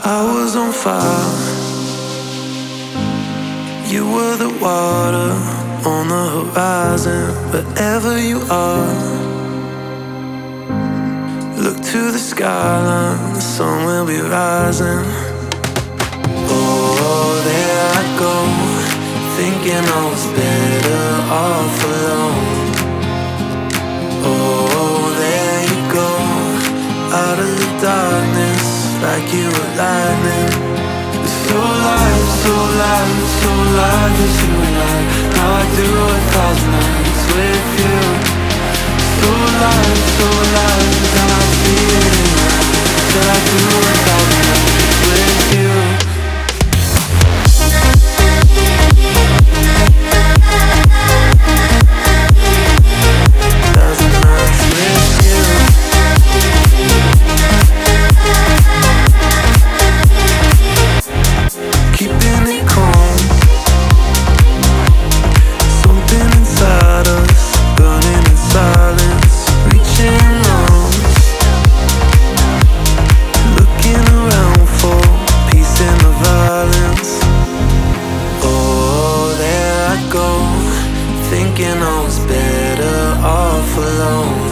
I was on fire. You were the water on the horizon. Wherever you are, look to the skyline, the sun will be rising. Oh, there I go, thinking I was better off alone. Oh, there you go, out of the darkness, like you were lightning. So light, so light, so light as you and I. Now I do 1,000 nights with you. So light, and I see it in my eyes. That I do 1,000 nights with you. Thinking I was better off alone.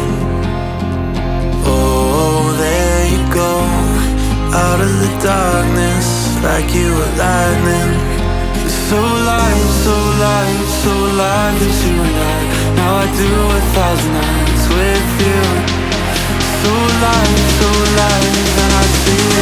Oh, there you go, out of the darkness, like you were lightning. So light, so light, so light as you and I. Now I do 1,000 nights with you. So light, and I see